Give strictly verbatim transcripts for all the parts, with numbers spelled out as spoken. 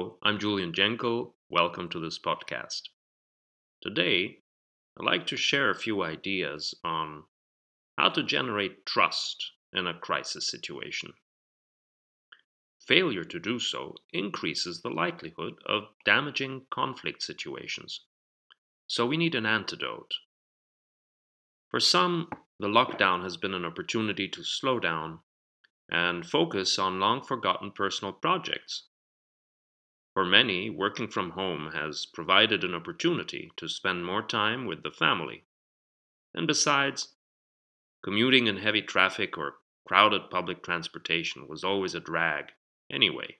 Hello, I'm Julian Jenko. Welcome to this podcast. Today, I'd like to share a few ideas on how to generate trust in a crisis situation. Failure to do so increases the likelihood of damaging conflict situations. So we need an antidote. For some, the lockdown has been an opportunity to slow down and focus on long forgotten personal projects. For many, working from home has provided an opportunity to spend more time with the family. And besides, commuting in heavy traffic or crowded public transportation was always a drag anyway.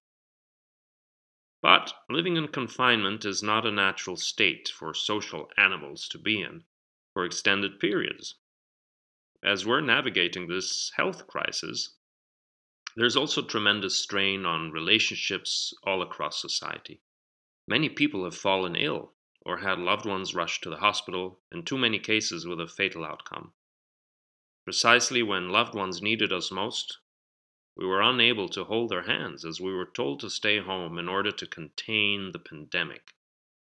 But living in confinement is not a natural state for social animals to be in for extended periods. As we're navigating this health crisis, there's also tremendous strain on relationships all across society. Many people have fallen ill or had loved ones rushed to the hospital, in too many cases with a fatal outcome. Precisely when loved ones needed us most, we were unable to hold their hands as we were told to stay home in order to contain the pandemic.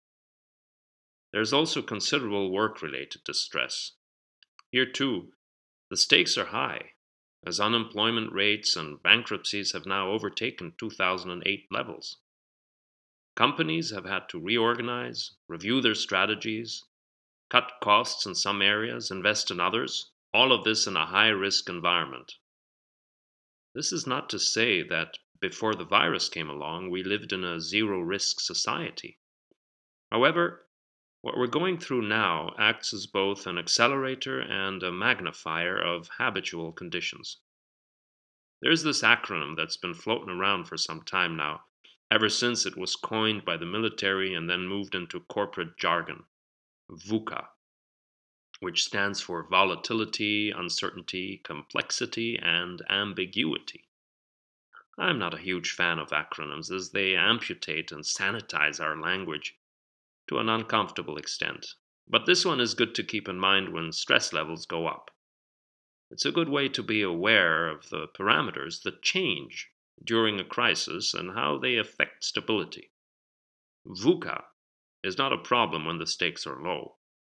There's also considerable work-related distress. Here too, the stakes are high, as unemployment rates and bankruptcies have now overtaken two thousand eight levels. Companies have had to reorganize, review their strategies, cut costs in some areas, invest in others, all of this in a high-risk environment. This is not to say that before the virus came along, we lived in a zero-risk society. However, what we're going through now acts as both an accelerator and a magnifier of habitual conditions. There's this acronym that's been floating around for some time now, ever since it was coined by the military and then moved into corporate jargon, VUCA, which stands for volatility, uncertainty, complexity, and ambiguity. I'm not a huge fan of acronyms as they amputate and sanitize our language to an uncomfortable extent, but this one is good to keep in mind when stress levels go up. It's a good way to be aware of the parameters that change during a crisis and how they affect stability. VUCA is not a problem when the stakes are low.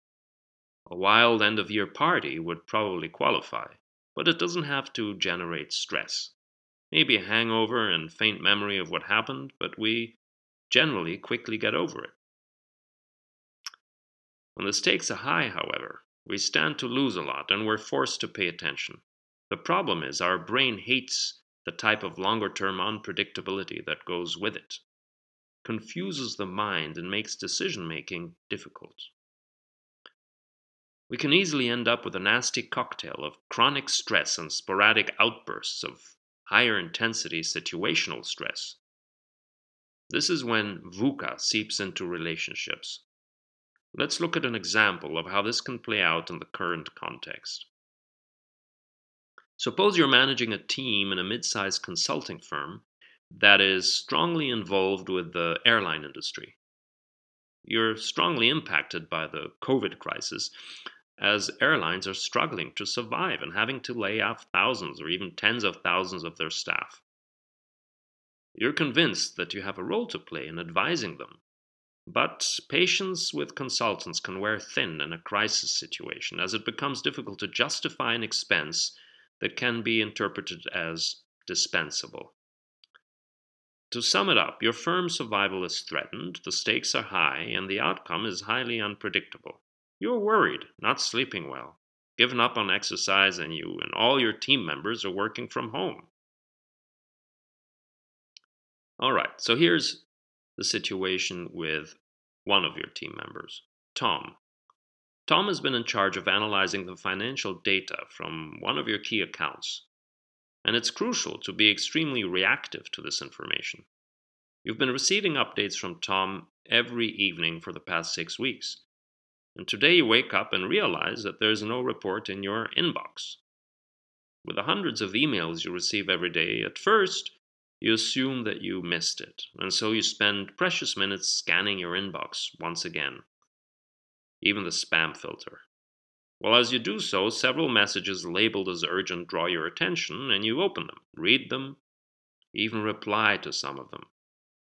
A wild end-of-year party would probably qualify, but it doesn't have to generate stress. Maybe a hangover and faint memory of what happened, but we generally quickly get over it. When the stakes are high, however, we stand to lose a lot and we're forced to pay attention. The problem is our brain hates the type of longer-term unpredictability that goes with it, confuses the mind and makes decision-making difficult. We can easily end up with a nasty cocktail of chronic stress and sporadic outbursts of higher intensity situational stress. This is when VUCA seeps into relationships. Let's look at an example of how this can play out in the current context. Suppose you're managing a team in a mid-sized consulting firm that is strongly involved with the airline industry. You're strongly impacted by the COVID crisis as airlines are struggling to survive and having to lay off thousands or even tens of thousands of their staff. You're convinced that you have a role to play in advising them, but patience with consultants can wear thin in a crisis situation as it becomes difficult to justify an expense that can be interpreted as dispensable. To sum it up, your firm's survival is threatened, the stakes are high, and the outcome is highly unpredictable. You're worried, not sleeping well, given up on exercise, and you and all your team members are working from home. All right, so here's the situation with one of your team members, Tom. Tom has been in charge of analyzing the financial data from one of your key accounts, and it's crucial to be extremely reactive to this information. You've been receiving updates from Tom every evening for the past six weeks. And today you wake up and realize that there's no report in your inbox. With the hundreds of emails you receive every day, at first, you assume that you missed it, and so you spend precious minutes scanning your inbox once again, even the spam filter. Well, as you do so, several messages labeled as urgent draw your attention, and you open them, read them, even reply to some of them.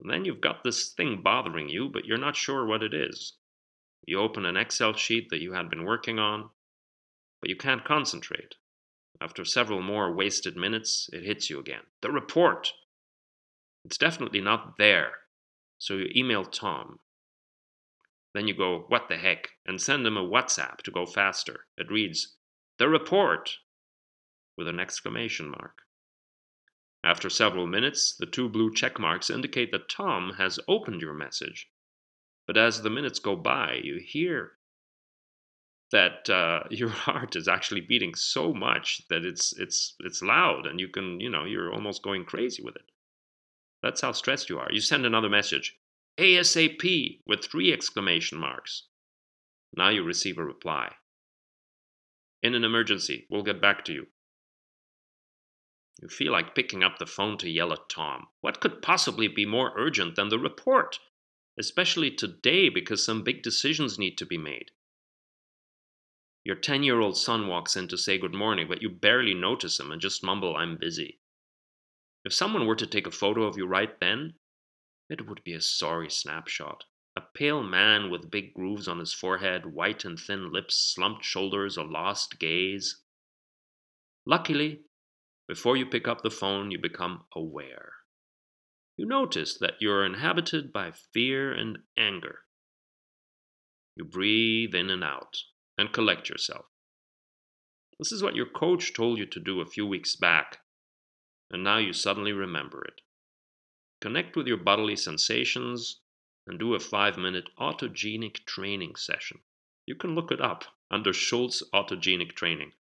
And then you've got this thing bothering you, but you're not sure what it is. You open an Excel sheet that you had been working on, but you can't concentrate. After several more wasted minutes, it hits you again. The report! It's definitely not there. So you email Tom. Then you go, what the heck, and send him a WhatsApp to go faster. It reads, the report! With an exclamation mark. After several minutes, the two blue check marks indicate that Tom has opened your message. But as the minutes go by, you hear that uh, your heart is actually beating so much that it's it's it's loud, and you can, you know, you're almost going crazy with it. That's how stressed you are. You send another message, ASAP, with three exclamation marks. Now you receive a reply. In an emergency, we'll get back to you. You feel like picking up the phone to yell at Tom. What could possibly be more urgent than the report? Especially today, because some big decisions need to be made. Your ten-year-old son walks in to say good morning, but you barely notice him and just mumble, I'm busy. If someone were to take a photo of you right then, it would be a sorry snapshot. A pale man with big grooves on his forehead, white and thin lips, slumped shoulders, a lost gaze. Luckily, before you pick up the phone, you become aware. You notice that you're inhabited by fear and anger. You breathe in and out and collect yourself. This is what your coach told you to do a few weeks back, and now you suddenly remember it. Connect with your bodily sensations and do a five-minute autogenic training session. You can look it up under Schultz Autogenic Training.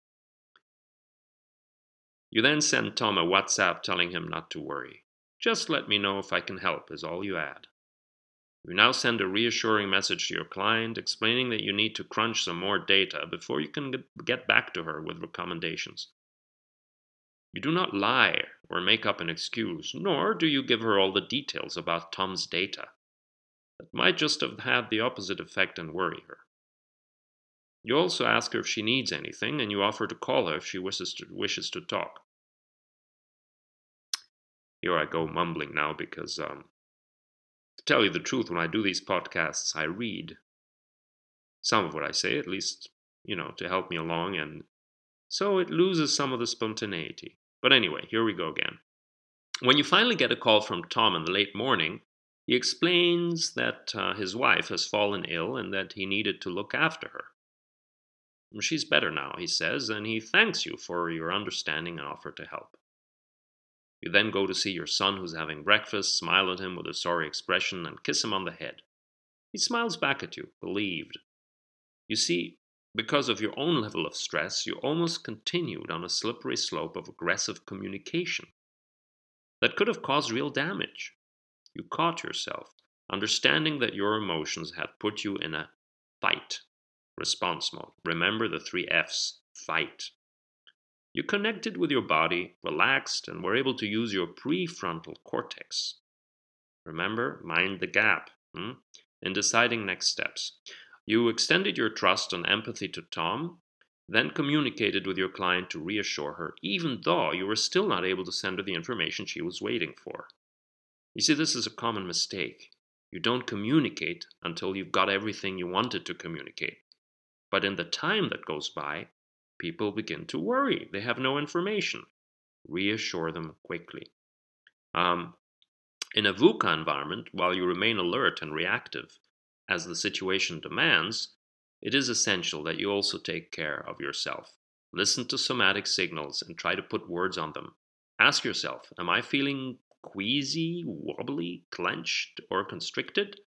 You then send Tom a WhatsApp telling him not to worry. Just let me know if I can help is all you add. You now send a reassuring message to your client explaining that you need to crunch some more data before you can get back to her with recommendations. You do not lie or make up an excuse, nor do you give her all the details about Tom's data. That might just have had the opposite effect and worry her. You also ask her if she needs anything, and you offer to call her if she wishes to, wishes to talk. Here I go mumbling now because, um, to tell you the truth, when I do these podcasts, I read some of what I say, at least, you know, to help me along, and so it loses some of the spontaneity. But anyway, here we go again. When you finally get a call from Tom in the late morning, he explains that uh, his wife has fallen ill and that he needed to look after her. She's better now, he says, and he thanks you for your understanding and offer to help. You then go to see your son who's having breakfast, smile at him with a sorry expression, and kiss him on the head. He smiles back at you, relieved. You see, because of your own level of stress, you almost continued on a slippery slope of aggressive communication that could have caused real damage. You caught yourself, understanding that your emotions had put you in a fight response mode. Remember the three F's, fight. You connected with your body, relaxed, and were able to use your prefrontal cortex. Remember, mind the gap hmm, in deciding next steps. You extended your trust and empathy to Tom, then communicated with your client to reassure her, even though you were still not able to send her the information she was waiting for. You see, this is a common mistake. You don't communicate until you've got everything you wanted to communicate. But in the time that goes by, people begin to worry. They have no information. Reassure them quickly. Um, in a VUCA environment, while you remain alert and reactive, as the situation demands, it is essential that you also take care of yourself. Listen to somatic signals and try to put words on them. Ask yourself, am I feeling queasy, wobbly, clenched, or constricted?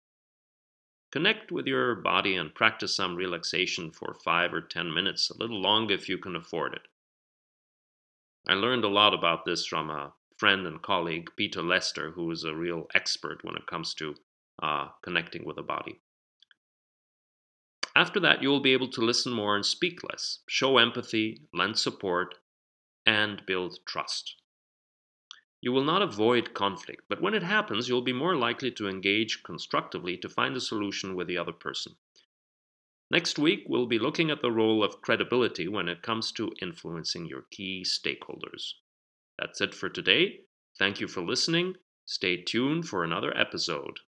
Connect with your body and practice some relaxation for five or ten minutes, a little longer if you can afford it. I learned a lot about this from a friend and colleague, Peter Lester, who is a real expert when it comes to uh, connecting with the body. After that, you will be able to listen more and speak less, show empathy, lend support, and build trust. You will not avoid conflict, but when it happens, you'll be more likely to engage constructively to find a solution with the other person. Next week, we'll be looking at the role of credibility when it comes to influencing your key stakeholders. That's it for today. Thank you for listening. Stay tuned for another episode.